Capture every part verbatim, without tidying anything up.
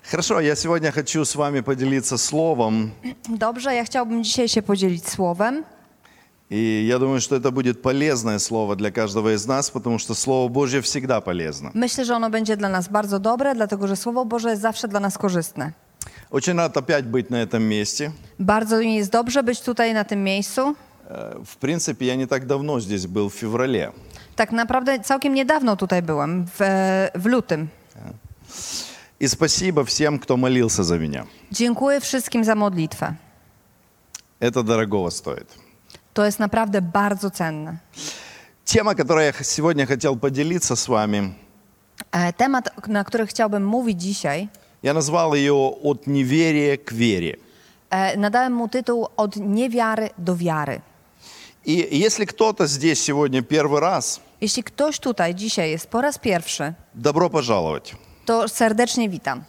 Хорошо, я сегодня хочу с вами поделиться словом. Dobrze, ja chciałbym dzisiaj się podzielić słowem. И я думаю, что это будет полезное слово для каждого из нас, потому что Слово Божье всегда полезно. Myślę, że ono będzie dla nas bardzo dobre, dlatego że Słowo Boże jest zawsze dla nas korzystne. Очень рад опять быть на этом месте. Bardzo mi jest dobrze być tutaj na tym miejscu. Э, В принципе, я не так давно здесь был, в феврале. Tak naprawdę całkiem niedawno tutaj byłem, w, w lutym. И спасибо всем, кто молился за меня. Dziękuję wszystkim za modlitwę. Это дорогого стоит. To jest naprawdę bardzo cenne. Тема, которой я х- сегодня хотел поделиться с вами, E, Temat, na który chciałbym mówić dzisiaj, я назвал ее «От неверия к вере». e, nadałem mu tytuł Od niewiary do wiary. И если кто-то здесь сегодня первый раз, Jeśli ktoś tutaj dzisiaj jest po raz pierwszy, добро пожаловать. to serdecznie witam.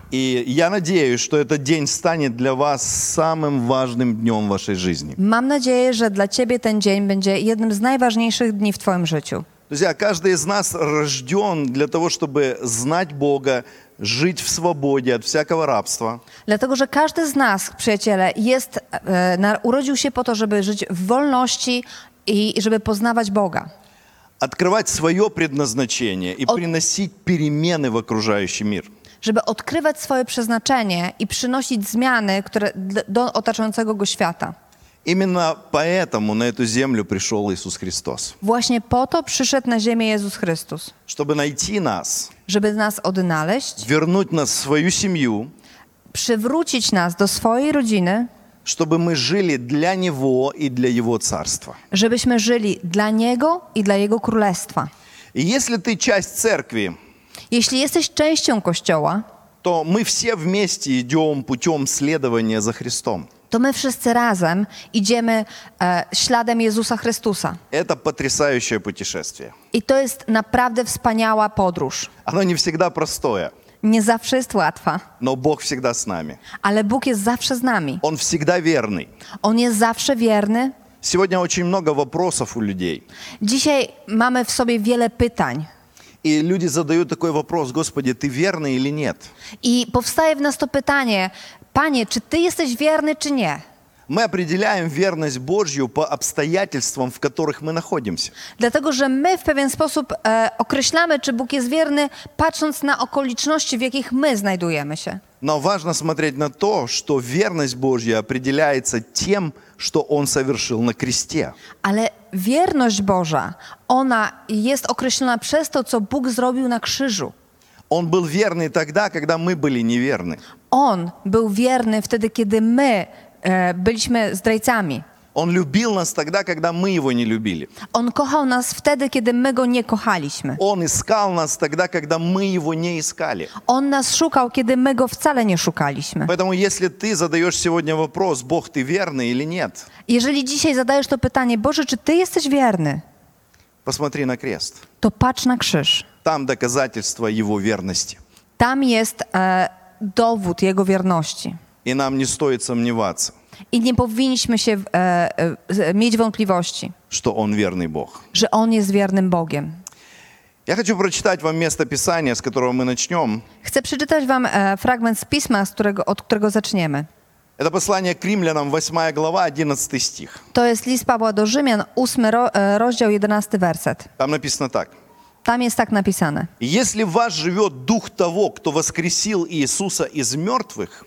И я надеюсь, что этот день станет для вас самым важным днем в вашей жизни. Mam nadzieję, że dla ciebie ten dzień będzie jednym z najważniejszych dni w twoim życiu. Друзья, каждый из нас рожден для того, чтобы знать Бога, жить в свободе от всякого рабства, Dlatego, że każdy z nas, przyjaciele, jest, e, na, urodził się po to, żeby żyć w wolności i żeby poznawać Boga. открывать свое предназначение и От- приносить перемены в окружающий мир. Żeby odkrywać swoje przeznaczenie i przynosić zmiany które, d- do otaczającego go świata. Именно поэтому на эту землю пришел Иисус Христос. Właśnie po to przyszedł na ziemię Jezus Chrystus. Чтобы найти нас, Żeby nas odnaleźć, вернуть нас в свою семью, przywrócić nas do swojej rodziny, чтобы мы жили для Него и для Его Царства. żebyśmy żyli dla Niego i dla Jego Królestwa. И если ты часть церкви, Jeśli jesteś częścią Kościoła, то мы все вместе идем путем следования за Христом. to my wszyscy razem idziemy e, śladem Jezusa Chrystusa. Это потрясающее путешествие. I to jest naprawdę wspaniała podróż. Оно не всегда простое, Nie zawsze jest łatwa, но Бог всегда с нами. ale Bóg jest zawsze z nami. Он всегда верный. On jest zawsze wierny. Сегодня очень много вопросов у людей. Dzisiaj mamy w sobie wiele pytań. И люди задают такой вопрос: Господи, ты верный или нет? I powstaje w nas to pytanie, Panie, czy Ty jesteś wierny, czy nie? Мы определяем верность Божью по обстоятельствам, в которых мы находимся. Dlatego, że my w pewien sposób e, określamy, czy Bóg jest wierny, patrząc na okoliczności, w jakich my znajdujemy się. Но важно смотреть на то, что верность Божья определяется тем, что Он совершил на кресте. Ale wierność Boża, ona jest określona przez to, co Bóg zrobił na krzyżu. Он был верный тогда, когда мы были неверны. On był wierny wtedy, kiedy my e, byliśmy zdrajcami. Он любил нас тогда, когда мы Его не любили. On kochał nas wtedy, kiedy my Go nie kochaliśmy. Он искал нас тогда, когда мы Его не искали. On nas szukał, kiedy my Go wcale nie szukaliśmy. Поэтому если ты задаешь сегодня вопрос, Бог, ты верный или нет, Jeżeli dzisiaj zadajesz to pytanie, Boże, czy Ty jesteś wierny? посмотри на крест. To patrz na krzyż. Там доказательство Его верности. Tam jest e, dowód Jego wierności. И нам не стоит сомневаться, I nie powinniśmy się e, e, mieć wątpliwości, что Он верный Бог. że On jest wiernym Bogiem. Я хочу прочитать вам место Писания, с которого мы начнем. Chcę przeczytać wam e, fragment z Pisma, z którego, od którego zaczniemy. Это послание к римлянам, восьмая глава, одиннадцатый стих. To jest list Pawła do Rzymian, ósmy ro, e, rozdział, jedenasty werset. Там написано так. Tam jest tak napisane. «Если в вас живет дух того, кто воскресил Иисуса из мертвых,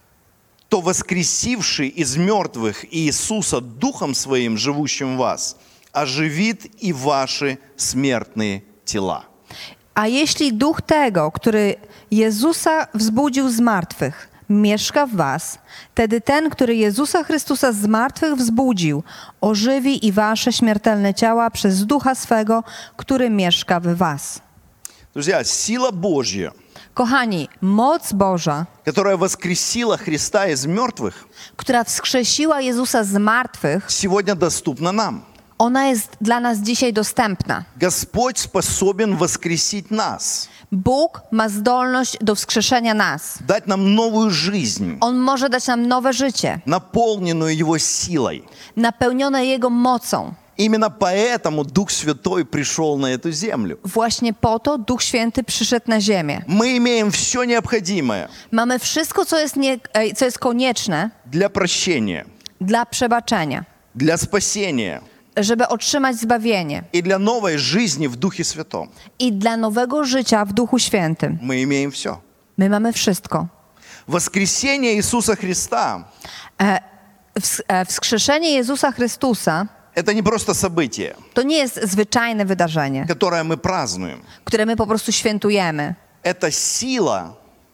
то воскресивший из мертвых Иисуса Духом Своим, живущим в вас, оживит и ваши смертные тела». A jeśli duch tego, który Jezusa wzbudził z martwych, mieszka w was, wtedy ten, który Jezusa Chrystusa z martwych wzbudził, ożywi i wasze śmiertelne ciała przez ducha swego, który mieszka w was. Друзья, сила Божья, Kochani, moc Boża, которая воскресила Христа из мертвых, która wskrzesiła Jezusa z martwych, сегодня доступна нам. ona jest dla nas dzisiaj dostępna. Господь способен воскресить нас, Bóg ma zdolność do wskrzeszenia nas. дать нам новую жизнь, On może dać nam nowe życie, наполненную Его силой. napełnione Jego mocą. Именно поэтому Дух Святой пришел на эту землю. Właśnie po to Duch Święty przyszedł na ziemię. Мы имеем все необходимое Mamy wszystko, co jest, nie, e, co jest konieczne для прощения, dla przebaczenia, для спасения żeby otrzymać zbawienie и для новой жизни в Духе Святом. i dla nowego życia w Duchu Świętym. Мы имеем все. My mamy wszystko. Воскресение Иисуса Христа E, ws- e, Wskrzeszenie Jezusa Chrystusa – это не просто событие, to nie jest zwyczajne wydarzenie, которое мы празднуем. które my po prostu świętujemy. Это сила,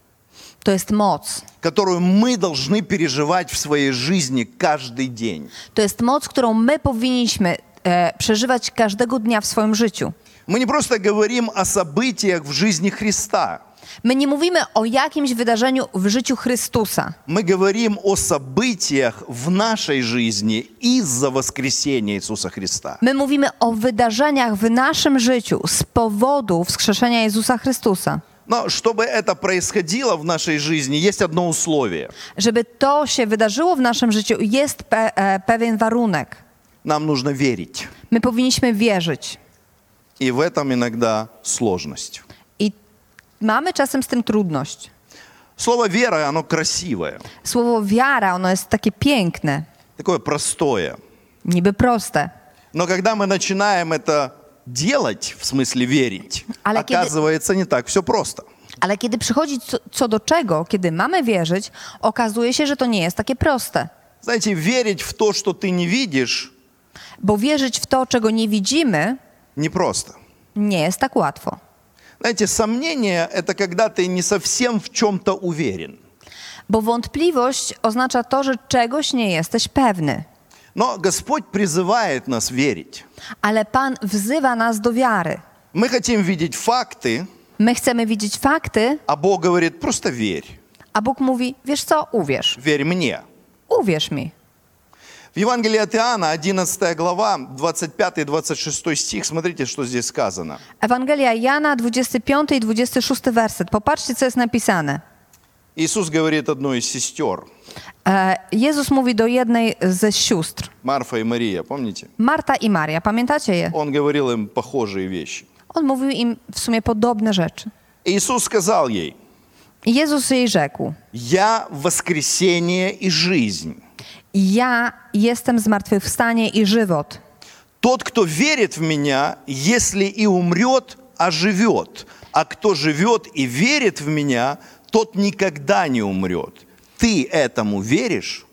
To jest moc. которую мы должны переживать в своей жизни каждый день. To jest moc, którą my powinniśmy e, przeżywać każdego dnia w swoim życiu. Мы не просто говорим о событиях в жизни Христа. My nie mówimy o jakimś wydarzeniu w życiu Chrystusa. Мы говорим о событиях в нашей жизни из-за воскресения Иисуса Христа. My mówimy o wydarzeniach w naszym życiu z powodu wskrzeszenia Jezusa Chrystusa. Но чтобы это происходило в нашей жизни, есть одно условие. Żeby to się wydarzyło w naszym życiu, jest pe- e, pewien warunek. Нам нужно верить. My powinniśmy wierzyć. И в этом иногда сложность. I mamy czasem z tym trudność. Слово «вера», оно красивое, Słowo wiara, ono jest takie piękne, такое простое. niby proste. Но когда мы начинаем это делать, в смысле верить, Ale kiedy- оказывается не так все просто. Ale kiedy przychodzi co, co do czego, kiedy mamy wierzyć, okazuje się, że to nie jest takie proste. Знаете, верить в то, что ты не видишь, Bo wierzyć w to, czego nie widzimy, непросто. nie jest tak łatwo. Знаете, сомнение – это когда ты не совсем в чем-то уверен. Bo wątpliwość oznacza to, że czegoś nie jesteś pewny. Но Господь призывает нас верить. Ale Pan wzywa nas do wiary. Мы хотим видеть факты, My chcemy widzieć fakty, а Бог говорит, просто верь. a Bóg mówi, wiesz co, uwierz. Верь мне. Uwierz mi. В Евангелии от Иоанна, одиннадцатая глава, двадцать пятый двадцать шестой стих, смотрите, что здесь сказано. Ewangelia Jana, dwudziesty piąty i dwudziesty szósty werset. Popatrzcie, co jest napisane. Иисус говорит одной из сестер, E, Jezus mówi do jednej ze sióstr, Марфа и Мария, помните? Marta i Maria. Pamiętacie je? Он говорил им похожие вещи. On mówił im w sumie podobne rzeczy. И Иисус сказал ей, I Jezus jej rzekł, «Я воскресение и жизнь. ja jestem zmartwychwstanie i żywot. Тот, кто верит в Меня, если и умрет, оживет. А кто живет и верит в Меня, тот никогда не умрет. Ты этому веришь?»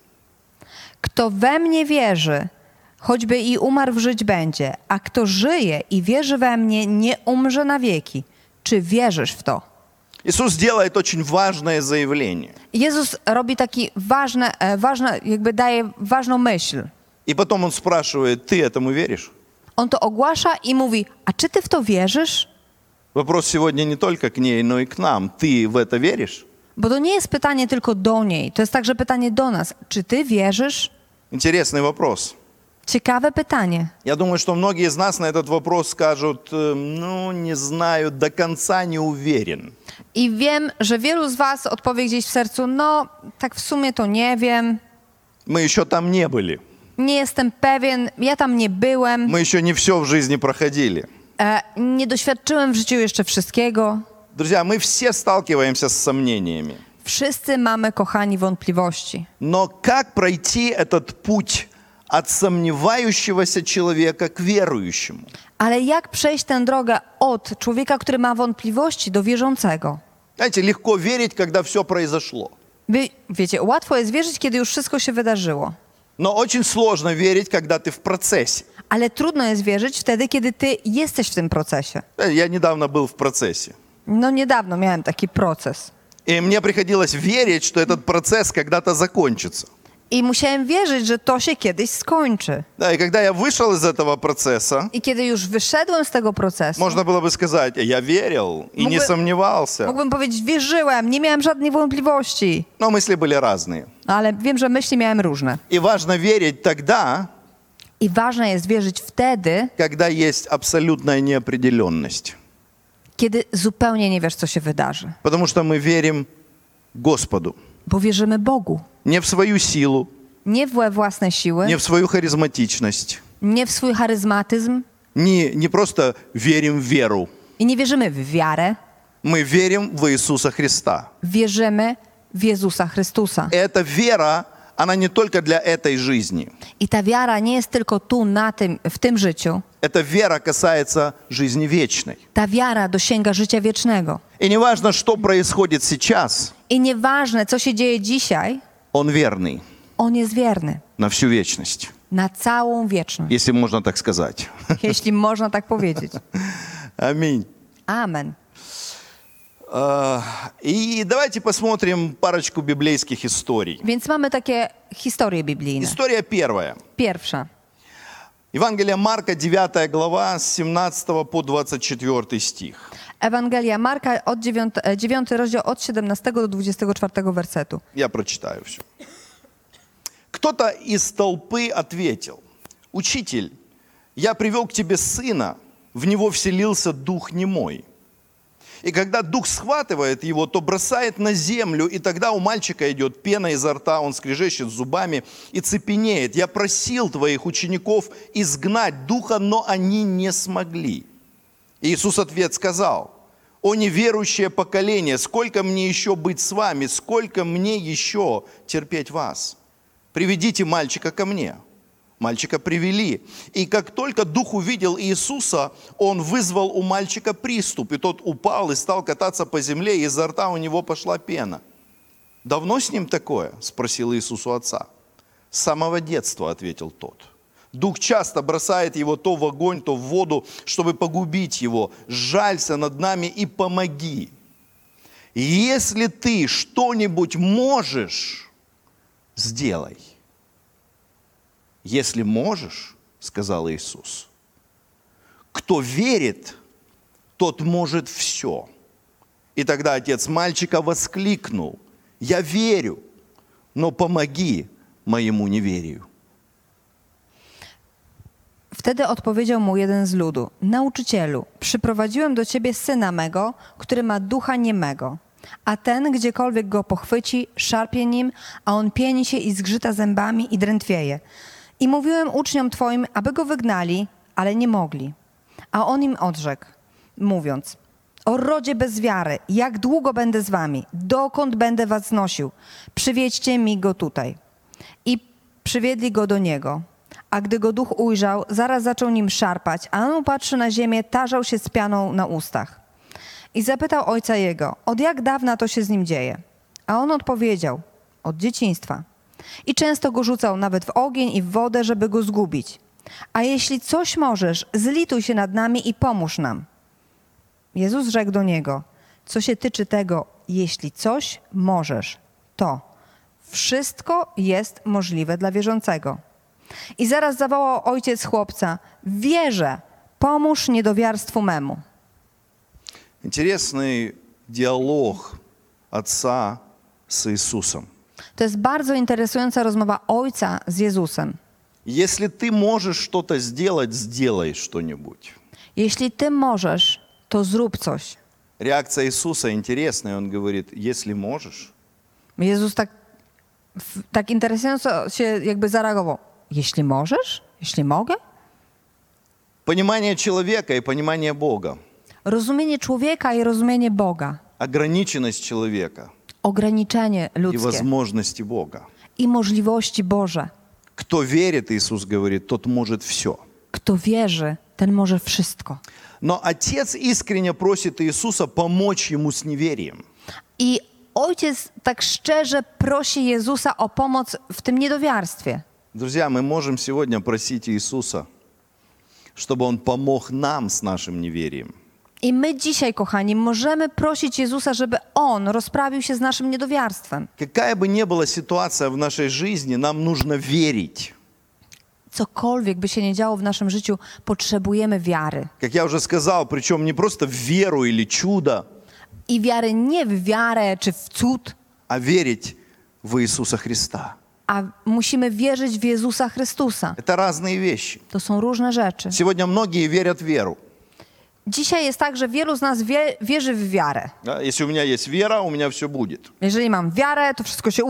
Kto we mnie wierzy, choćby i umarł, żyć będzie, a kto żyje i wierzy we mnie, nie umrze na wieki. Czy wierzysz w to? Иисус делает очень важное заявление. Jezus robi taki ważne, e, ważne, jakby daje ważną myśl. И потом Он спрашивает, ты этому веришь? On to ogłasza i mówi, a czy ty w to wierzysz? Вопрос сегодня не только к ней, но и к нам. Ты в это веришь? Bo to nie jest pytanie tylko do niej, to jest także pytanie do nas. Czy ty wierzysz? Интересный вопрос. Ciekawe pytanie. Я думаю, что многие из нас на этот вопрос скажут, э, ну, не знаю, до конца не уверен. I wiem, że wielu z was odpowie gdzieś w sercu, no tak w sumie to nie wiem, Мы еще там не были. nie jestem pewien, ja tam nie byłem, Мы еще не все в жизни проходили. e, nie doświadczyłem w życiu jeszcze wszystkiego. Друзья, мы все сталкиваемся с сомнениями. Wszyscy mamy, kochani, wątpliwości. Но как пройти этот путь от сомневающегося человека к верующему? Ale jak przejść tę drogę od człowieka, który ma wątpliwości, do wierzącego? Знаете, легко верить, когда все произошло. Wy, wiecie, łatwo jest wierzyć, kiedy już wszystko się wydarzyło. Но очень сложно верить, когда ты в процессе. Ale trudno jest wierzyć wtedy, kiedy ty jesteś w tym procesie. Я недавно был в процессе. No niedawno miałem taki proces. И мне приходилось верить, что этот процесс когда-то закончится. I musiałem wierzyć, że to się kiedyś skończy. Да, и когда я вышел из этого процесса, I kiedy już wyszedłem z tego procesu, можно было бы сказать, я верил и не Mógłby- сомневался. mógłbym powiedzieć, wierzyłem, nie miałem żadnej wątpliwości. Но мысли были разные. Ale wiem, że myśli miałem różne. И важно верить тогда, I ważne jest wierzyć wtedy, когда есть абсолютная неопределенность. kiedy zupełnie nie wiesz, co się wydarzy. Потому что мы верим Господу. Bo wierzymy Bogu. Не в свою силу, Nie we własne siły, не в свою харизматичность, nie w swój charyzmatyzm Не, не просто верим в веру. i nie wierzymy w wiarę, Мы верим в Иисуса Христа. wierzymy w Jezusa Chrystusa. Эта вера, она не только для этой жизни. I ta wiara nie jest tylko tu, na tym, w tym życiu. Эта вера касается жизни вечной. Ta wiara dosięga życia wiecznego. И неважно, что происходит сейчас, I nieważne, co się dzieje dzisiaj, Он верный On jest wierny на всю вечность, na całą wieczność, если можно так сказать. jeśli można tak powiedzieć. Аминь. Amen. А, И давайте посмотрим парочку библейских историй. Więc mamy takie historie biblijne. История первая. Pierwsza. Евангелие Марка, девятая глава, с семнадцатого по двадцать четвёртый стих. Ewangelia Marka, od dziewiąty, dziewiąty rozdział, od siedemnastego do dwudziestego czwartego wersetu. Я прочитаю все. Кто-то из толпы ответил: «Учитель, я привел к тебе сына, в него вселился дух немой. И когда дух схватывает его, то бросает на землю, и тогда у мальчика идет пена изо рта, он скрежещет зубами и цепенеет. Я просил твоих учеников изгнать духа, но они не смогли». Иисус ответ сказал: «О неверующее поколение, сколько мне еще быть с вами, сколько мне еще терпеть вас? Приведите мальчика ко мне». Мальчика привели. И как только дух увидел Иисуса, он вызвал у мальчика приступ, и тот упал и стал кататься по земле, и изо рта у него пошла пена. «Давно с ним такое?» – спросил Иисус у отца. «С самого детства», – ответил тот. «Дух часто бросает его то в огонь, то в воду, чтобы погубить его. Сжалься над нами и помоги. Если ты что-нибудь можешь, сделай». «Если можешь, — сказал Иисус, — кто верит, тот может все». И тогда отец мальчика воскликнул: «Я верю, но помоги моему неверию». Wtedy odpowiedział mu jeden z ludu: Nauczycielu, przyprowadziłem do ciebie syna mego, który ma ducha niemego. A ten, gdziekolwiek go pochwyci, szarpie nim, a on pieni się i zgrzyta zębami i drętwieje. I mówiłem uczniom twoim, aby go wygnali, ale nie mogli. A on im odrzekł, mówiąc: o rodzie bez wiary, jak długo będę z wami? Dokąd będę was znosił? Przywiedźcie mi go tutaj. I przywiedli go do niego. A gdy go duch ujrzał, zaraz zaczął nim szarpać, a on upatrzy na ziemię, tarzał się z pianą na ustach. I zapytał ojca jego: od jak dawna to się z nim dzieje? A on odpowiedział: od dzieciństwa. I często go rzucał nawet w ogień i w wodę, żeby go zgubić. A jeśli coś możesz, zlituj się nad nami i pomóż nam. Jezus rzekł do niego: co się tyczy tego, jeśli coś możesz, to wszystko jest możliwe dla wierzącego. I zaraz zawołał ojciec chłopca: wierzę, pomóż niedowiarstwu memu. Интересный диалог отца с Иисусом. To jest bardzo interesująca rozmowa ojca z Jezusem. Если ты можешь что-то сделать, сделай что-нибудь. Jeśli ty możesz, to zrób coś. Реакция Иисуса интересная. Он говорит: если можешь. Jezus tak, tak interesująco się jakby zareagował. Jeśli możesz? Jeśli mogę? Понимание человека и понимание Бога. Rozumienie człowieka i rozumienie Boga. Ограниченность человека Ograniczenie и ludzkie возможности Бога. i możliwości Boże. Кто верит, Иисус говорит, тот может все. Kto wierzy, ten może wszystko. Но отец искренне просит Иисуса помочь ему с неверием. I ojciec tak szczerze prosi Jezusa o pomoc w tym niedowiarstwie. Друзья, мы можем сегодня просить Иисуса, чтобы Он помог нам с нашим неверием. I my dzisiaj, kochani, możemy prosić Jezusa, żeby On rozprawił się z naszym niedowiarstwem. Какая бы ни была ситуация в нашей жизни, нам нужно верить. Cokolwiek by się nie działo w naszym życiu, potrzebujemy wiary. Как я уже сказал, причем не просто в веру или чудо, I wiary nie w wiarę czy w cud, а верить в Иисуса Христа. a musimy wierzyć w Jezusa Chrystusa. Это разные вещи. To są różne rzeczy. Сегодня многие верят в веру. Dzisiaj jest tak, że wielu z nas wie, wierzy w wiarę. Да, если у меня есть вера, у меня все будет. Jeżeli mam wiarę, to wszystko się uda.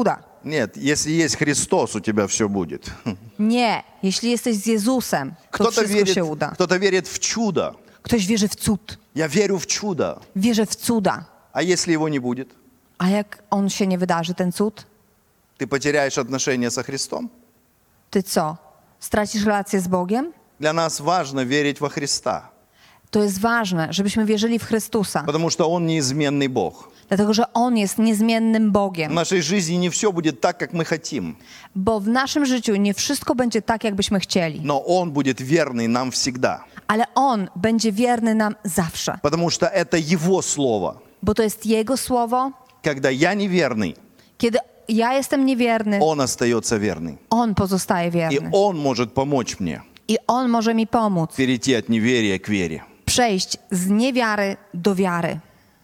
Нет, если есть Христос, у тебя все будет. Nie, jeśli jesteś z Jezusem, to Кто-то wszystko верит, się uda. кто-то верит в чудо. Ktoś wierzy w cud, Я верю в чудо. wierzy w cuda. А если его не будет? A jak on się nie wydarzy, ten cud, Ты потеряешь отношения со Христом? ty co? Stracisz relację z Bogiem? Для нас важно верить во Христа, To jest ważne, żebyśmy wierzyli w Chrystusa, потому что Он неизменный Бог. dlatego że On jest niezmiennym В Bogiem. нашей жизни не все будет так, как мы хотим, Bo w naszym życiu nie wszystko będzie tak, jakbyśmy chcieli, но Он будет верный нам всегда, ale On będzie wierny nam zawsze, потому что это Его Слово. bo to jest Jego słowo. Когда я неверный, Kiedy ja jestem niewierny, Он остается верный. On pozostaje И wierny. Он может помочь мне I On może mi pomóc перейти от неверия к вере. przejść z niewiary do wiary.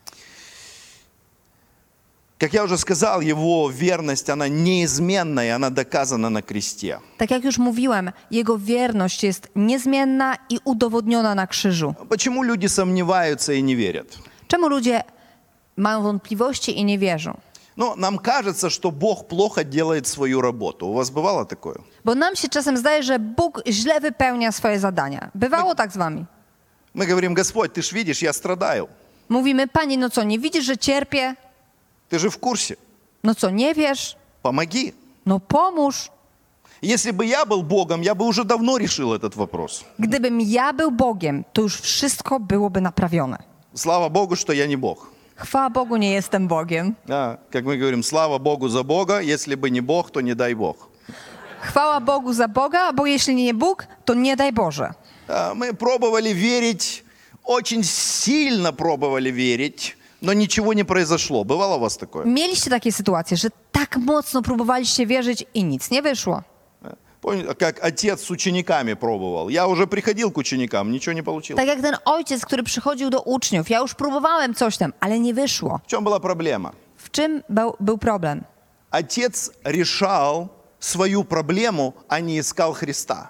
Как я уже сказал, Его верность, она неизменна, и она доказана на кресте. Tak jak już mówiłem, Jego wierność jest niezmienna i udowodniona na krzyżu. Почему люди сомневаются и не верят? Czemu ludzie mają wątpliwości i nie wierzą? Ну, нам кажется, что Бог плохо делает свою работу. У вас бывало такое? Bo nam się czasem zdaje, że Bóg źle wypełnia swoje zadania. Bywało tak z wami. Мы говорим: Господь, ты ж видишь, я страдаю. Mówimy, Panie, no co, nie widzisz, że cierpię? Ты же в курсе. No co, nie wiesz? Помоги. No pomóż. Если бы я был Богом, я бы уже давно решил этот вопрос. Gdybym ja był Bogiem, to już wszystko byłoby naprawione. Слава Богу, что я не Бог. Chwała Bogu, nie jestem Bogiem. Да, как мы говорим, слава Богу за Бога. Если бы не Бог, то не дай Бог. Chwała Bogu za Boga, bo jeśli nie Bóg, to nie daj Boże. Да, мы пробовали верить, очень сильно пробовали верить, но ничего не произошло. Бывало у вас такое? Mieliście takie sytuacje, że tak mocno próbowaliście wierzyć i nic nie wyszło. Помните, как отец с учениками пробовал? Я уже приходил к ученикам, ничего не получилось. Tak jak ten ojciec, który przychodził do uczniów. Ja już próbowałem coś tam, ale nie wyszło. В чем была проблема? W czym był, był problem? Отец решал свою проблему, а не искал Христа.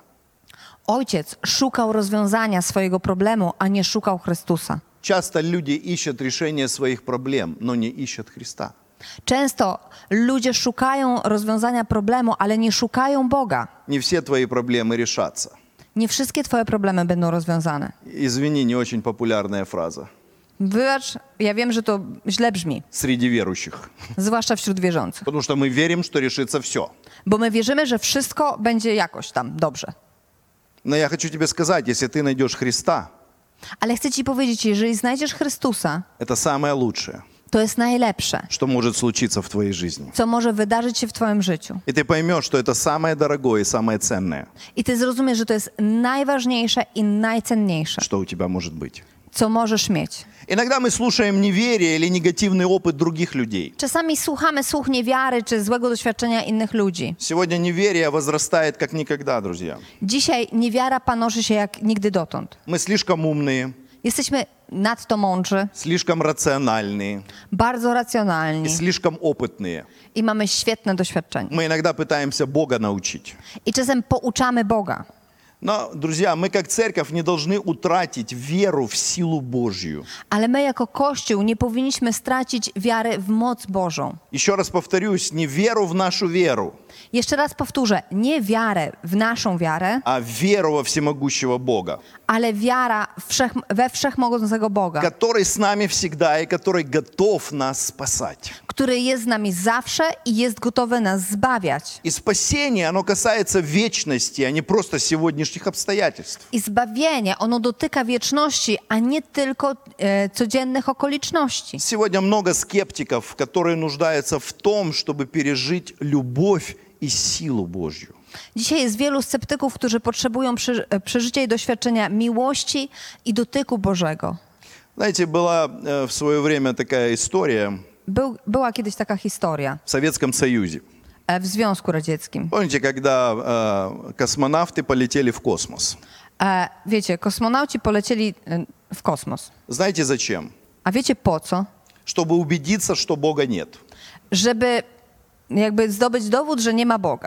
Ojciec szukał rozwiązania swojego problemu, a nie szukał Chrystusa. Часто люди ищут решение своих проблем, но не ищут Христа. Często ludzie szukają rozwiązania problemu, ale nie szukają Boga. Не все твои проблемы решатся. Nie wszystkie twoje problemy będą rozwiązane. Извини, не очень популярная фраза Wybacz, ja wiem, że to źle brzmi, среди верующих. zwłaszcza wśród wierzących. Потому что мы верим, что решится все. Bo my wierzymy, że wszystko będzie jakoś tam dobrze. Но я хочу тебе сказать, если ты найдешь Христа, Ale chcę ci powiedzieć, jeżeli znajdziesz Chrystusa, это самое лучшее, to jest najlepsze, что может случиться в твоей жизни. co może wydarzyć się w twoim życiu. И ты поймешь, что это самое дорогое и самое ценное, I ty zrozumiesz, że to jest najważniejsze i najcenniejsze, что у тебя может быть. co możesz mieć. Иногда мы слушаем неверие или негативный опыт других людей. Czasami słuchamy słów niewiary czy złego doświadczenia innych ludzi. Сегодня неверие возрастает как никогда, друзья. Dzisiaj niewiara panoszy się jak nigdy dotąd. Мы слишком умные, Jesteśmy nadto mądrzy, слишком рациональные bardzo и racjonalni слишком опытные. i mamy świetne doświadczenie. Мы иногда пытаемся Бога научить. I czasem pouczamy Boga. Но, друзья, мы как церковь не должны утратить веру в силу Божью. Ale my jako Kościół nie powinniśmy stracić wiary w moc Bożą. Еще раз повторюсь, не веру в нашу веру, Jeszcze raz powtórzę, nie wiarę w naszą wiarę, а веру во всемогущего Бога, ale wiara wszech, we wszechmogącego Boga, который с нами всегда и который готов нас спасать. który jest z nami zawsze i jest gotowy nas zbawiać. И спасение, оно касается вечности, а не просто сегодняшних обстоятельств. I zbawienie, ono dotyka wieczności, a nie tylko e, codziennych okoliczności. Сегодня много скептиков, которые нуждаются в том, чтобы пережить любовь и силу Божью. Dzisiaj jest wielu sceptyków, którzy potrzebują przy, e, przeżycia i doświadczenia miłości i dotyku Bożego. Знаете, была э, в свое время такая история Był, była kiedyś taka historia в Советском Союзе. e, w Związku Radzieckim. Помните, когда э, космонавты полетели в космос? E, wiecie, kosmonauci polecieli e, w kosmos. Знаете зачем? A wiecie po co? Чтобы убедиться, что Бога нет. Żeby jakby zdobyć dowód, że nie ma Boga.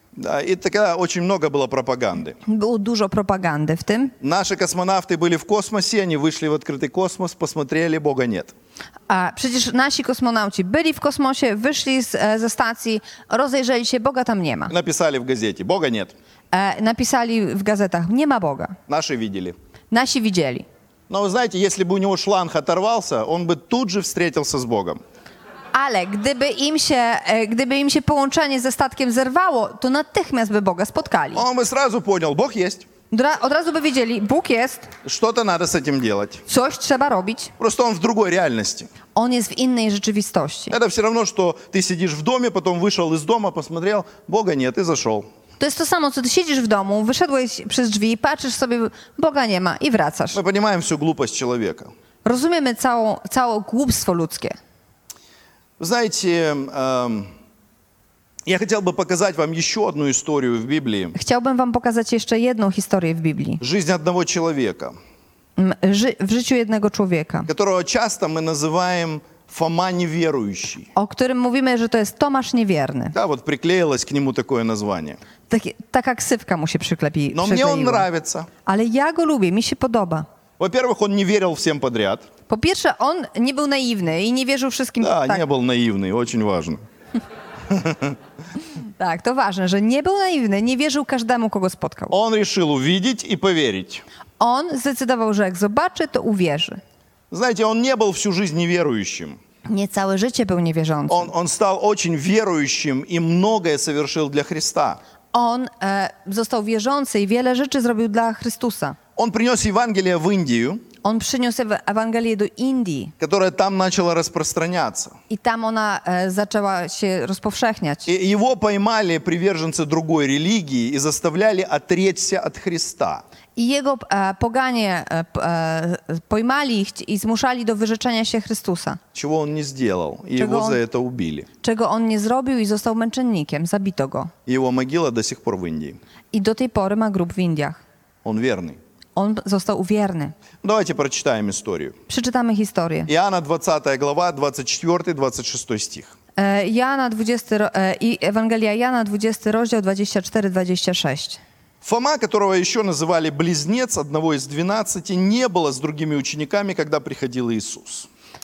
Да, и тогда очень много было пропаганды. Było dużo propagandy w tym. Наши космонавты были в космосе, они вышли в открытый космос, посмотрели, Бога нет. A przecież nasi kosmonauci byli w kosmosie, wyszli z, e, ze stacji, rozejrzeli się, Boga tam nie ma. Написали в газете, Бога нет. E, napisali w gazetach, nie ma Boga. Наши видели. Nasi widzieli. Но вы знаете, если бы у него шланг оторвался, он бы тут же встретился с Богом. Ale gdyby im się, e, gdyby im się połączenie ze statkiem zerwało, to natychmiast by Boga spotkali. Он бы сразу понял, Бог есть. Dra- Od razu by wiedzieli, Bóg jest, Что-то надо с этим делать. coś trzeba robić. Просто он в другой реальности. On jest w innej rzeczywistości. Это все равно, что ты сидишь в доме, потом вышел из дома, посмотрел, Бога нет, и зашел. To jest to samo, co ty siedzisz w domu, wyszedłeś przez drzwi, patrzysz sobie, Boga nie ma i wracasz. Мы понимаем всю глупость человека. Rozumiemy całą, całe głupstwo ludzkie. Вы знаете, эм, я хотел бы показать вам еще одну историю в Библии. Chciałbym wam pokazać jeszcze jedną historię w Biblii. Жизнь одного человека, M, Ży- w życiu jednego człowieka, которого часто мы называем Фома неверующий. o którym mówimy, że to jest Tomasz Niewierny. Да, вот приклеилось к нему такое название. Taki, taka ksywka mu się przyklepi, Но мне он przykleiła. нравится. Ale ja go lubię, mi się podoba. Во-первых, он не верил всем подряд. Po pierwsze, on nie był naiwny i nie wierzył wszystkim. Да, tak, не был наивный, очень важно. tak, to ważne, że nie był naiwny, nie wierzył każdemu, kogo spotkał. Он решил увидеть и поверить. On zdecydował, że jak zobaczy, to uwierzy. Знаете, он не был всю жизнь неверующим. Nie całe życie był niewierzący. Он, он стал очень верующим и многое совершил для Христа. On e, został wierzący i wiele rzeczy zrobił dla Chrystusa. Он принес Евангелие в Индию, On przyniósł Ewa- Ewangelię do Indii которая там начала распространяться. i tam ona e, zaczęła się rozpowszechniać. И его поймали приверженцы другой религии и заставляли отречься от Христа. I jego e, poganie e, p- e, pojmali ich i zmuszali do wyrzeczenia się Chrystusa, Чего он не сделал. И Чего его он- за это убили. czego on nie zrobił i został męczennikiem, zabito go. И его могила до сих пор в Индии. I do tej pory ma grób w Indiach. Он верный. On został wierny. Давайте прочитаем историю. Przeczytamy historię. Иоанна двадцатая глава, двадцать четвёртый двадцать шестой стих. E, Jana dwudziesty, ro- e, i Ewangelia Jana, dwudziesty rozdział, dwadzieścia cztery dwadzieścia sześć. Фома, которого еще называли близнец, одного из двенадцати, не было с другими учениками, когда приходил Иисус.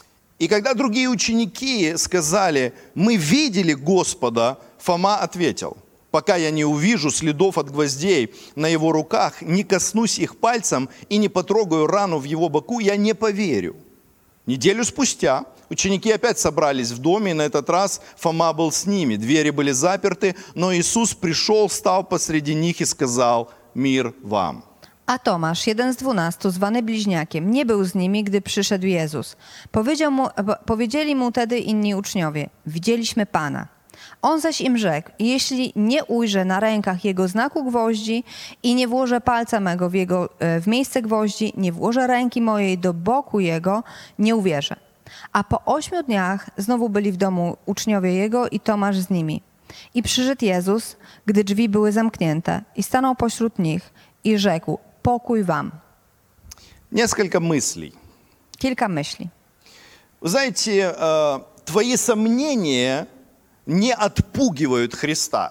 И когда другие ученики сказали, мы видели Господа, Фома ответил, пока я не увижу следов от гвоздей на его руках, не коснусь их пальцем и не потрогаю рану в его боку, я не поверю. Неделю спустя ученики опять собрались в доме, и на этот раз Фома был с ними. Двери были заперты, но Иисус пришел, стал посреди них и сказал: «Мир вам». A Tomasz, jeden z dwunastu, zwany bliźniakiem, nie był z nimi, gdy przyszedł Jezus. Powiedział mu, po- powiedzieli mu tedy inni uczniowie, widzieliśmy Pana. On zaś im rzekł, jeśli nie ujrzę na rękach jego znaku gwoździ i nie włożę palca mego w, jego, e, w miejsce gwoździ, nie włożę ręki mojej do boku jego, nie uwierzę. A po ośmiu dniach znowu byli w domu uczniowie jego i Tomasz z nimi. I przyszedł Jezus, gdy drzwi były zamknięte, i stanął pośród nich i rzekł, pokój wam. Несколько мыслей. Kilka myśli. Вы знаете, э, твои сомнения не отпугивают Христа.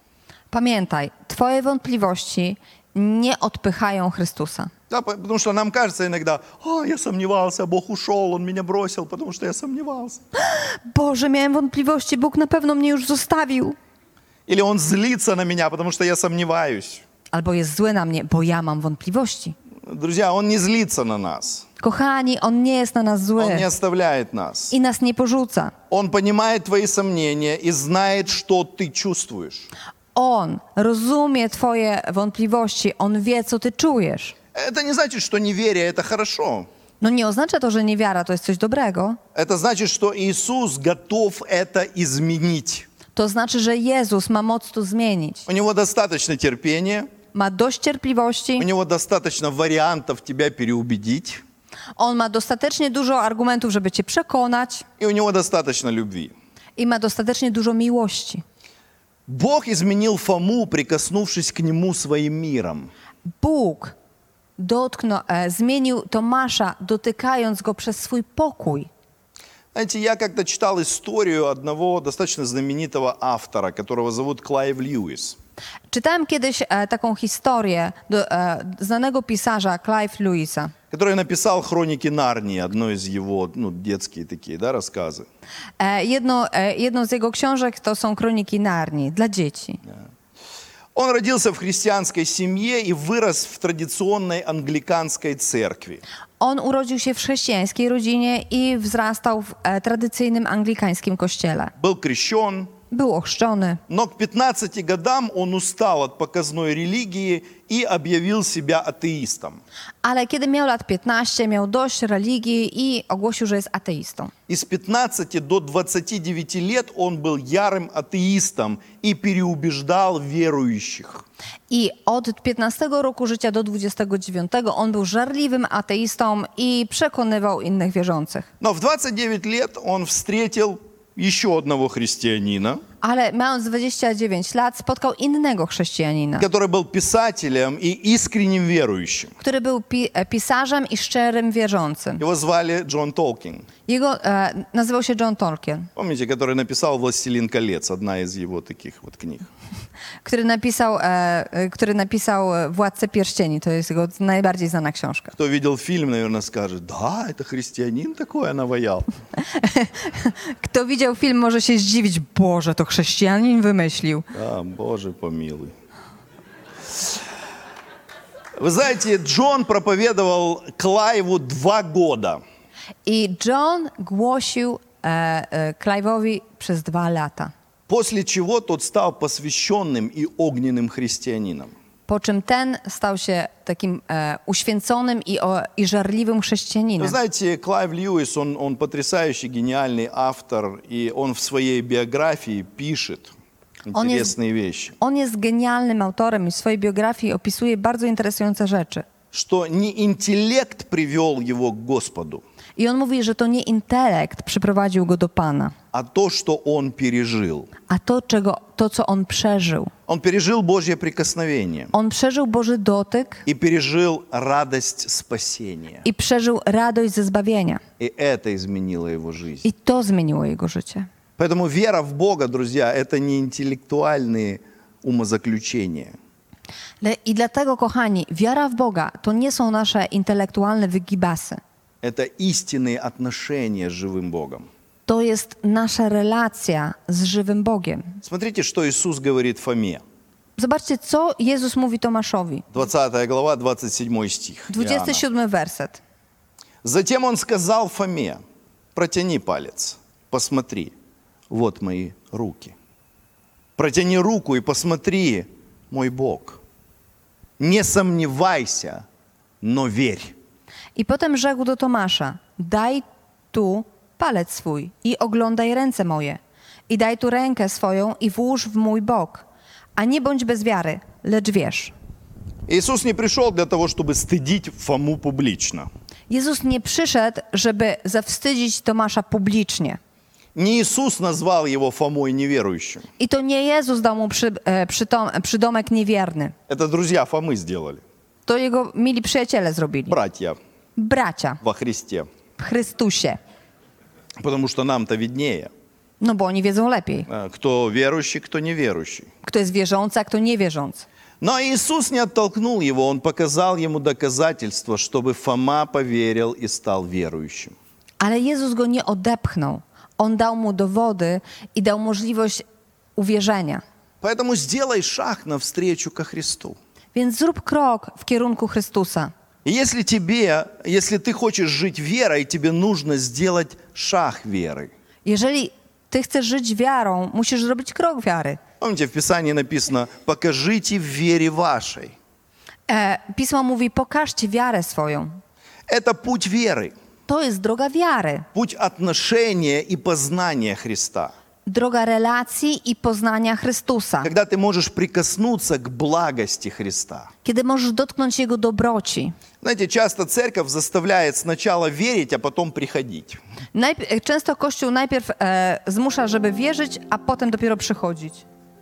Pamiętaj, twoje wątpliwości nie odpychają Chrystusa. Да, по- потому что нам кажется иногда, а, я сомневался, Бог ушел, Он меня бросил, потому что я сомневался. Boże, miałem wątpliwości, Bóg na pewno mnie już zostawił. Или Он злится на меня, потому что я сомневаюсь. Albo jest zły na mnie, bo ja mam wątpliwości. Друзья, Он nie злится на нас. Kochani, On nie jest na nas zły Он не оставляет нас. i nas nie porzuca. Он понимает твои сомнения и знает, что ты чувствуешь. On rozumie twoje wątpliwości, On wie, co ty czujesz. Это не значит, что неверие – это хорошо. No nie oznacza to, że niewiara to jest coś dobrego. Это значит, что Иисус готов это изменить. To znaczy, że Jezus ma moc to zmienić. У Него достаточно терпения, Ma dość у cierpliwości, Него достаточно вариантов тебя переубедить, On ma dostatecznie dużo argumentów, żeby cię przekonać и у Него достаточно любви. i ma dostatecznie dużo miłości. Бог изменил Фому, прикоснувшись к Нему своим миром. Bóg dotknął, e, zmienił Tomasza, dotykając go przez swój pokój. Знаете, я как-то читал историю одного достаточно знаменитого автора, которого зовут Клайв Льюис. Czytałem kiedyś e, taką historię do, e, znanego pisarza Clive Lewisa, Который написал «Хроники Нарнии», одно из его, ну, детские такие, да, рассказы. E, jedno, e, jedną z jego książek to są Kroniki Narni dla dzieci. Он родился в христианской семье и вырос в традиционной англиканской церкви. On urodził się w chrześcijańskiej rodzinie i wzrastał w e, tradycyjnym anglikańskim kościele. Был крещен, Był ochrzczony, но к пятнадцати годам он устал от показной религии и объявил себя атеистом. ale kiedy miał lat piętnaście, miał dość religii i ogłosił, że jest ateistą. И с пятнадцати до двадцати девяти лет он был ярым атеистом и переубеждал верующих. I od piętnastego roku życia do dwudziestego dziewiątego on był żarliwym ateistą i przekonywał innych wierzących. Но в двадцать девять лет он встретил еще одного христианина, Ale mając dwadzieścia dziewięć lat spotkał innego chrześcijanina, который был писателем и искренним верующим. który był pi- e, pisarzem i szczerym wierzącym. Его звали Джон Толкин. Jego e, nazywał się John Tolkien, Помните, который написал «Властелин колец», одна из его таких вот книг. który napisał, e, e, który napisał Władcę Pierścieni. To jest jego najbardziej znana książka. Кто видел фильм, наверное, скажет: да, это христианин такое наваял. Kto widział film, może się zdziwić. Boże, to chrześcijanin wymyślił. Да, Боже помилуй. Вы знаете, Джон проповедовал Клайву два года. I John głosił e, e, Clive'owi przez dwa lata. После чего тот стал посвященным и огненным христианином. Po czym ten stał się takim e, uświęconym i, o, i żarliwym Вы chrześcijaninem. знаете, Клайв Льюис, он, он потрясающий, гениальный автор, и он в своей биографии пишет Он есть- интересные вещи. On jest genialnym autorem i w swojej biografii opisuje bardzo interesujące rzeczy. Что не интеллект привел его к Господу, I on mówi, że to nie intelekt przyprowadził go do Pana, а то, что он пережил. a to, czego, to co on przeżył. Он пережил Божье прикосновение On przeżył Boży dotyk и пережил радость спасения. i przeżył radość ze zbawienia. И это изменило его жизнь. I to zmieniło jego życie. Поэтому вера в Бога, друзья, это не интеллектуальные умозаключения. Le- I dlatego, kochani, wiara w Boga to nie są nasze intelektualne wygibasy. Это истинные отношения с живым Богом. To jest nasza relacja z żywym Bogiem. Смотрите, что Иисус говорит Фоме. Zobaczcie, co Jezus mówi Tomaszowi. двадцатая глава, двадцать седьмой стих. dwudziesty Иоанна. siódmy werset. Затем он сказал Фоме: протяни палец, посмотри, вот мои руки. Протяни руку и посмотри, мой Бог. Не сомневайся, но верь. I potem rzekł do Tomasza, daj tu palec swój i oglądaj ręce moje. I daj tu rękę swoją i włóż w mój bok. A nie bądź bez wiary, lecz wierz. Иисус не пришел для того, чтобы стыдить Фому публично. Jezus nie przyszedł, żeby zawstydzić Tomasza publicznie. Не Иисус назвал его Фомой неверующим. I to nie Jezus dał mu przy, e, przytom, przydomek niewierny. Это друзья Фомы сделали. To jego mili przyjaciele zrobili. Братья Bracia во Христе. w Chrystusie. Потому что нам-то виднее. No bo oni wiedzą lepiej. А, Кто верующий, кто неверующий. Kto jest wierzący, a kto niewierzący. Но Иисус не оттолкнул его, Он показал ему доказательства, чтобы Фома поверил и стал верующим. Ale Jezus go nie odepchnął. On dał mu dowody i dał możliwość uwierzenia. Поэтому сделай шаг навстречу ко Христу. Więc zrób krok w kierunku Chrystusa. И если тебе, если ты хочешь жить верой, тебе нужно сделать шаг веры. Jeżeli ty chcesz żyć wiarą, musisz zrobić krok wiary. Помните, в Писании написано: «Покажите в вере вашей». E, Pismo mówi, pokażcie wiarę swoją. Это путь веры, To jest droga wiary. путь отношения и познания Христа. Droga relacji i poznania Chrystusa. Когда ты можешь прикоснуться к благости Христа. Kiedy możesz dotknąć Jego dobroci. Знаете, часто церковь заставляет сначала верить, а потом приходить. Najp- często Kościół najpierw e, zmusza, żeby wierzyć, a potem dopiero przychodzić.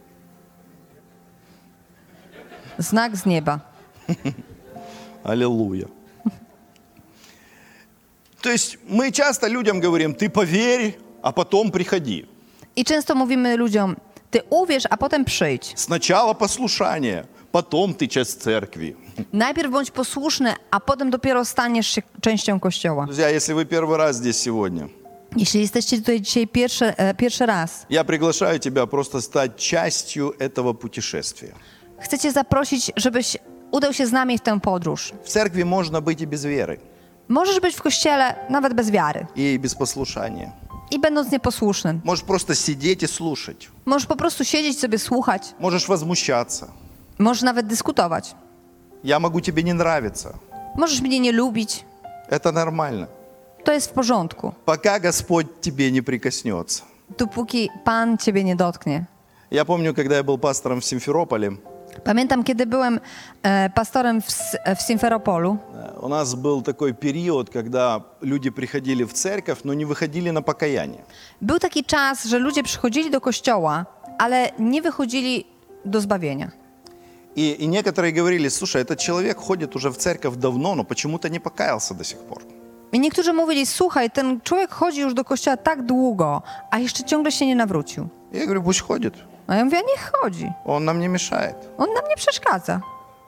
Znak z nieba. Аллилуйя. То есть мы часто людям говорим, ты поверь, а потом приходи. I często mówimy ludziom, ty uwierz, a potem przyjdź. Сначала послушание, потом ты часть церкви. Najpierw bądź posłuszny, a potem dopiero staniesz się częścią Kościoła. Друзья, если вы первый раз здесь сегодня, Jeśli jesteście tutaj dzisiaj pierwszy, e, pierwszy raz, я приглашаю тебя просто стать частью этого путешествия. chcę cię zaprosić, żebyś udał się z nami w tę podróż. В церкви можно быть и без веры, Możesz być w Kościele nawet bez wiary и без послушания. i będąc nieposłusznym. Можешь просто сидеть и слушать. Możesz po prostu siedzieć sobie, słuchać. Можешь возмущаться. Możesz nawet dyskutować. Я могу тебе не нравиться. Możesz mnie nie lubić. Это нормально. To jest w porządku. Пока Господь тебе не прикоснется. Dopóki Pan ciebie nie dotknie. Я помню, когда я был пастором в Симферополе, Pamiętam, kiedy byłem e, pastorem w, S- w Simferopolu. у нас был такой период, когда люди приходили в церковь, но не выходили на покаяние. Był taki czas, że ludzie przychodzili do kościoła, ale nie wychodzili do zbawienia. И, и некоторые говорили, слушай, этот человек ходит уже в церковь давно, но почему-то не покаялся до сих пор. I niektórzy mówili, słuchaj, ten człowiek chodzi już do kościoła tak długo, a jeszcze ciągle się nie nawrócił. Я говорю, пусть ходит, A ja mówię, niech chodzi. он нам не мешает. On nam nie przeszkadza.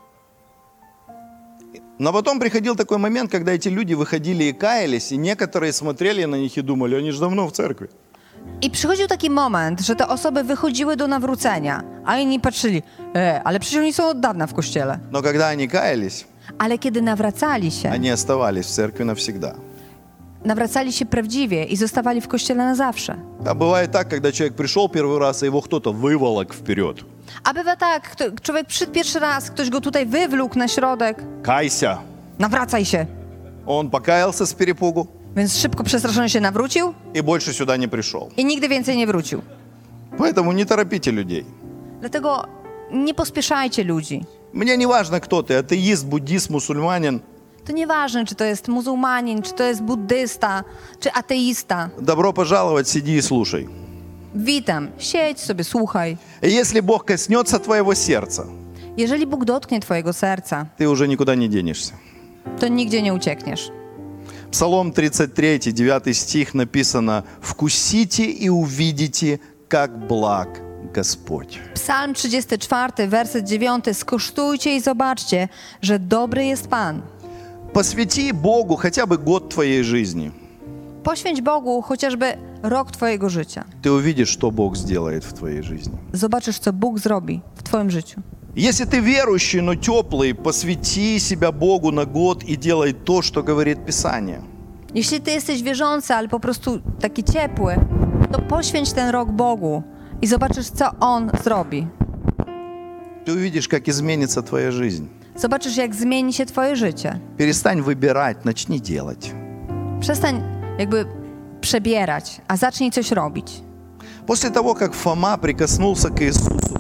Но потом приходил такой момент, когда эти люди выходили и каялись, и некоторые смотрели на них и думали, они же давно в церкви. I przychodził taki moment, że te osoby wychodziły do nawrócenia, a inni patrzyli, e, ale przecież oni są od dawna w kościele. Но когда они каялись, Ale kiedy nawracali się, они оставались в церкви навсегда. nawracali się prawdziwie i zostawali w kościele na zawsze. А бывает так, когда человек пришел первый раз, и его кто-то выволок вперед. A bywa tak, kto, człowiek przyszedł pierwszy raz, ktoś go tutaj wywlókł na środek, Кайся. nawracaj się. Он покаялся с перепугу Więc szybko przestraszony się nawrócił и больше сюда не пришел. i nigdy więcej nie wrócił. Поэтому не торопите людей. Dlatego nie pospieszajcie ludzi. Мне не важно, кто ты, атеист, буддист, мусульманин. To nieważne, czy to jest muzułmanin, czy to jest buddysta, czy ateista. Добро пожаловать, сиди и слушай. Witam, siedź sobie, słuchaj. И если Бог коснется твоего сердца, Jeżeli Bóg dotknie twojego serca, ты уже никуда не денешься. to nigdzie nie uciekniesz. Псалом тридцать три, девятый стих написано: «Вкусите и увидите, как благ Господь». Psalm trzydziesty czwarty, werset dziewiąty. Skosztujcie i zobaczcie, że dobry jest Pan. Посвяти Богу хотя бы год твоей жизни. Poświęć Bogu chociażby rok twojego życia. Ты увидишь, что Бог сделает в твоей жизни. Zobaczysz, co Bóg zrobi w twoim życiu. Если ты верующий, но теплый, посвяти себя Богу на год и делай то, что говорит Писание. Jeśli ty jesteś wierzący, ale po prostu taki ciepły, to poświęć ten rok Bogu i zobaczysz, co On zrobi. Ты увидишь, как изменится твоя жизнь. Zobaczysz, jak zmieni się twoje życie. Перестань выбирать, начни делать. Przestań jakby przebierać, a zacznij coś robić. После того, как Фома прикоснулся к Иисусу,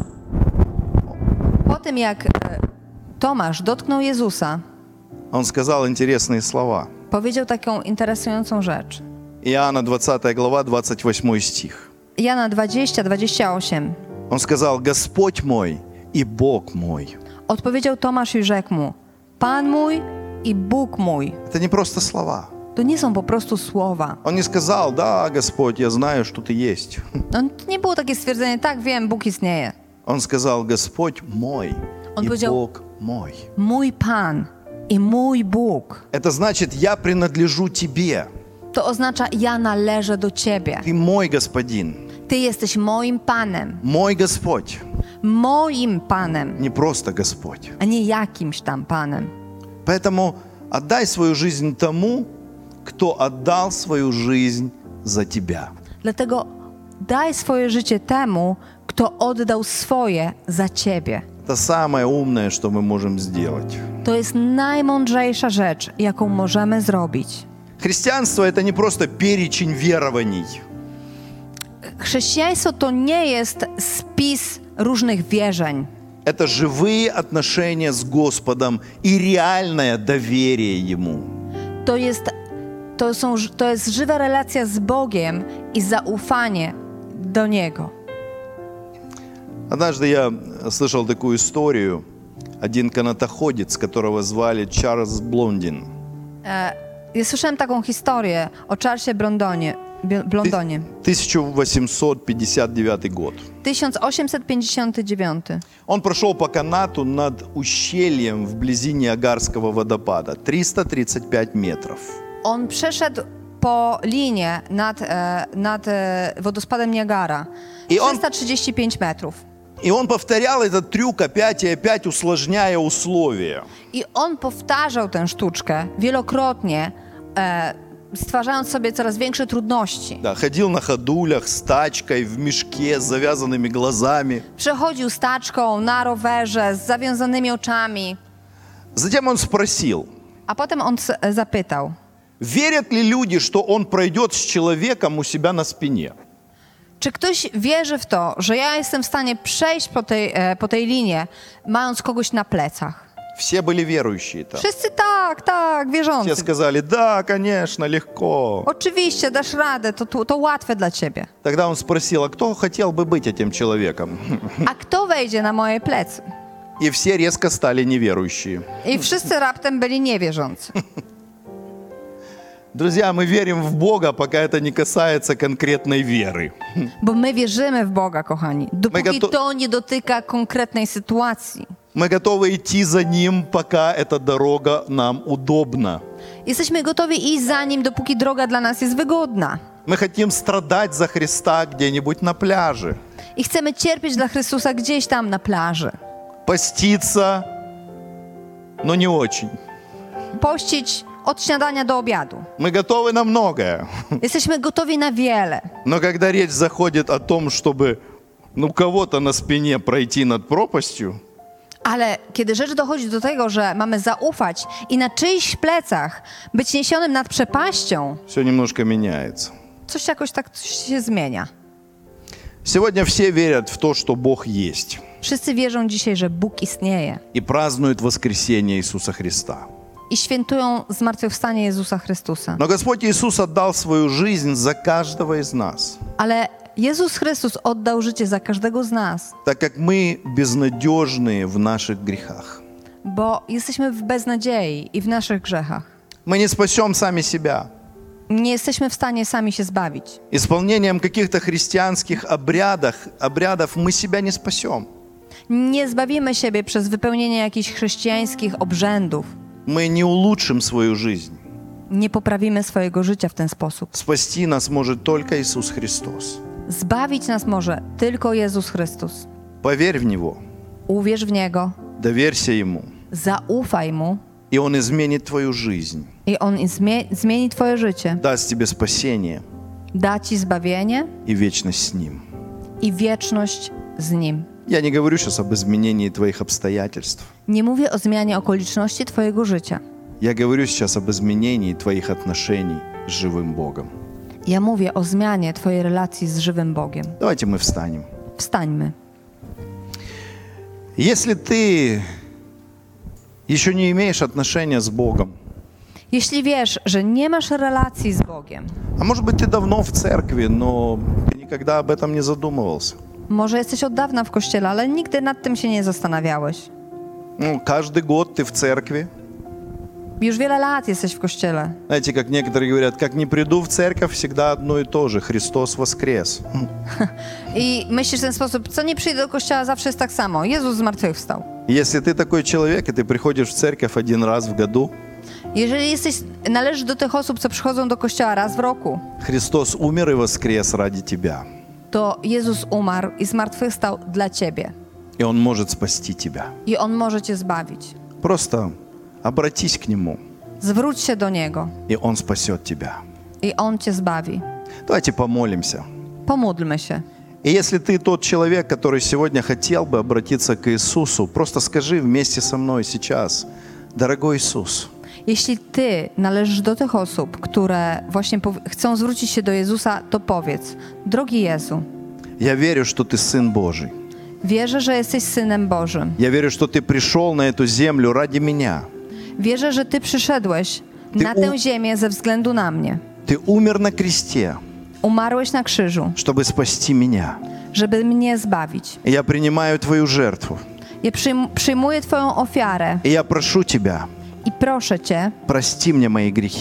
Po tym, jak e, Tomasz dotknął Jezusa, он сказал интересные слова. powiedział taką interesującą rzecz. Иоанна двадцатая глава, двадцать восьмой стих. Jana dwadzieścia, dwadzieścia osiem. Он сказал: «Господь мой и Бог мой». Odpowiedział Tomasz i rzekł mu, Pan mój i Bóg mój. Это не просто слова. To nie są po prostu słowa. Он не сказал: «Да, Господь, я знаю, что Ты есть». No, to nie było takie stwierdzenie, tak wiem, Bóg istnieje. Он сказал: «Господь мой Он и powiedział- Бог мой». Mój Pan i mój Bóg. Это значит, я принадлежу Тебе. To oznacza, ja należę do Ciebie. Ты мой Господин, Ty jesteś moim Panem. мой Господь, Moim Panem, не просто Господь. a nie jakimś tam Panem. Поэтому отдай свою жизнь тому, кто отдал свою жизнь за тебя. Dlatego daj swoje życie temu, kto oddał swoje za Ciebie. Это самое умное, что мы можем сделать. To jest najmądrzejsza rzecz, jaką możemy zrobić. Христианство – это не просто перечень верований. Chrześcijaństwo to nie jest spis różnych wierzeń. Это живые отношения с Господом и реальное доверие Ему. To jest, to są, to jest żywa relacja z Bogiem i zaufanie do Niego. Однажды я слышал такую историю. Один канатоходец, которого звали Чарльз Блондин. Ja słyszałem taką historię o Charlesie Blondonie. Bi- Blondonie. тысяча восемьсот пятьдесят девятый год. tysiąc osiemset pięćdziesiąty dziewiąty. Он прошел по канату над ущельем вблизи Ниагарского водопада. триста тридцать пять метров. On przeszedł po linie nad, e, nad e, wodospadem Niagara. I on- trzysta trzydzieści pięć metrów. И он повторял этот трюк опять и опять, усложняя условия. I on powtarzał tę sztuczkę wielokrotnie, e, stwarzając sobie coraz większe trudności. Да, ходил на ходулях с тачкой, в мешке, с завязанными глазами. Przechodził z taczką, na rowerze, z zawiązanymi oczami. Затем он спросил, A potem on s- zapytał, верят ли люди, что он пройдет с человеком у себя на спине? czy ktoś wierzy w to, że ja jestem w stanie przejść po tej, e, po tej linie, mając kogoś na plecach? Все были верующие там. Wszyscy tak, tak, Все wierzący. сказали, да, конечно, легко. Oczywiście, dasz radę, to, to, to łatwe dla ciebie. Тогда он спросил, а кто хотел бы быть этим человеком? A kto wejdzie na moje plecy? И все резко стали неверующие. I wszyscy raptem byli niewierzący. Друзья, мы верим в Бога, пока это не касается конкретной веры. Bo my wierzymy w Boga, kochani, dopóki goto- to nie dotyka konkretnej sytuacji. Мы готовы идти за Ним, пока эта дорога нам удобна. Jesteśmy gotowi iść za Nim, dopóki droga dla nas jest wygodna. Мы хотим страдать за Христа где-нибудь на пляже. I chcemy cierpieć dla Chrystusa gdzieś tam na plaży. Поститься, но не очень. Pościć od śniadania do obiadu. Мы готовы на многое. Jesteśmy gotowi na wiele. Но когда речь заходит о том, чтобы ну, кого-то на спине пройти над пропастью, Ale kiedy rzecz dochodzi do tego, że mamy zaufać i na czyichś plecach być niesionym nad przepaścią, все немножко меняется. coś jakoś tak coś się zmienia. Сегодня все верят в то, что Бог есть, Wszyscy wierzą dzisiaj, że Bóg istnieje и празднуют воскресение Иисуса Христа. i świętują zmartwychwstanie Jezusa Chrystusa. Но Господь Иисус отдал свою жизнь за каждого из нас, Ale Jezus Chrystus oddał życie za każdego z nas, так как мы безнадежные в наших грехах. bo jesteśmy w beznadziei i w naszych grzechach. Мы не спасем сами себя. Nie jesteśmy w stanie sami się zbawić. Исполнением каких-то христианских обрядов, обрядов мы себя не спасем. Nie zbawimy siebie przez wypełnienie jakichś chrześcijańskich obrzędów. Мы не улучшим свою жизнь. Nie poprawimy swojego życia w ten sposób. Спасти нас может только Иисус Христос. Zbawić nas może tylko Jezus Chrystus. Поверь в Него, Uwierz w Niego, доверься Ему, zaufaj Mu и Он изменит твою жизнь, i On zmie- zmieni Twoje życie. даст тебе спасение Da Ci zbawienie и вечность с Ним. i wieczność z Nim. Я не говорю сейчас об изменении твоих обстоятельств. Nie mówię o zmianie okoliczności Twojego życia. Я говорю сейчас об изменении твоих отношений с живым Богом. Ja mówię o zmianie Twojej relacji z żywym Bogiem. Давайте мы встанем. Wstańmy. Если ты еще не имеешь отношения с Богом, Jeśli wiesz, że nie masz relacji z Bogiem, а может быть ты давно в церкви, но ты никогда об этом не задумывался. może jesteś od dawna w kościele, ale nigdy nad tym się nie zastanawiałeś. Ну, каждый год ты в церкви. Już wiele lat jesteś w kościele. Знаете, как некоторые говорят, как не приду в церковь, всегда одно и то же. Христос воскрес. I myślisz w ten sposób, co nie przyjdę do kościoła, zawsze jest tak samo. Jezus zmartwychwstał. Если ты такой человек, и ты приходишь в церковь один раз в году, Jeżeli jesteś, należysz do tych osób, co przychodzą do kościoła raz w roku, Христос умер и воскрес ради тебя. to Jezus umarł i zmartwychwstał dla ciebie. И Он может спасти тебя. I On może cię zbawić. Просто обратись к Нему, Zwróć się do Niego и Он спасет тебя. i On cię zbawi. Давайте помолимся. Pomódlmy się. И если ты тот человек, который сегодня хотел бы обратиться к Иисусу, просто скажи вместе со мной сейчас: дорогой Иисус, Jeśli ty należysz do tych osób, które właśnie pow- chcą zwrócić się do Jezusa, to powiedz: Drogi Jezu, я верю, что Ты Сын Божий. wierzę, że jesteś Synem Bożym. Я верю, что Ты пришел на эту землю ради меня. Wierzę, że Ty przyszedłeś Ty na u- tę ziemię ze względu na mnie. Ты умер на кресте, Umarłeś na krzyżu, чтобы спасти меня. żeby mnie zbawić. И я принимаю Твою жертву. Ja przyjm- przyjmuję Twoją ofiarę И я прошу Тебя, i proszę Cię, прости мне мои грехи.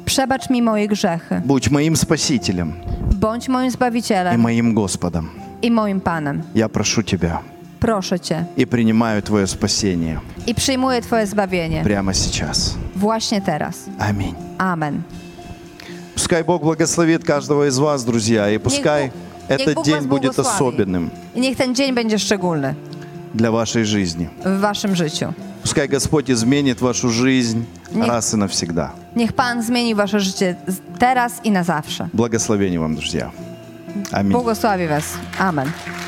Przebacz mi moje grzechy. Будь моим Спасителем Bądź moim и Zbawicielem моим Господом. i moim Panem. Я прошу Тебя Proszę Cię и принимаю Твое спасение i przyjmuję Twoje zbawienie прямо сейчас. właśnie teraz. Аминь. Amen. Пускай Бог благословит каждого из вас, друзья, и пускай Бог- niech этот Bóg день was будет błogosławi. особенным I niech ten dzień będzie szczególny для вашей жизни. w Waszym życiu. Пускай Господь изменит вашу жизнь Не- раз и навсегда. Niech Pan zmieni Wasze życie z- teraz i na zawsze. Благословения вам, друзья. Аминь. Błogosławi Was. Amen.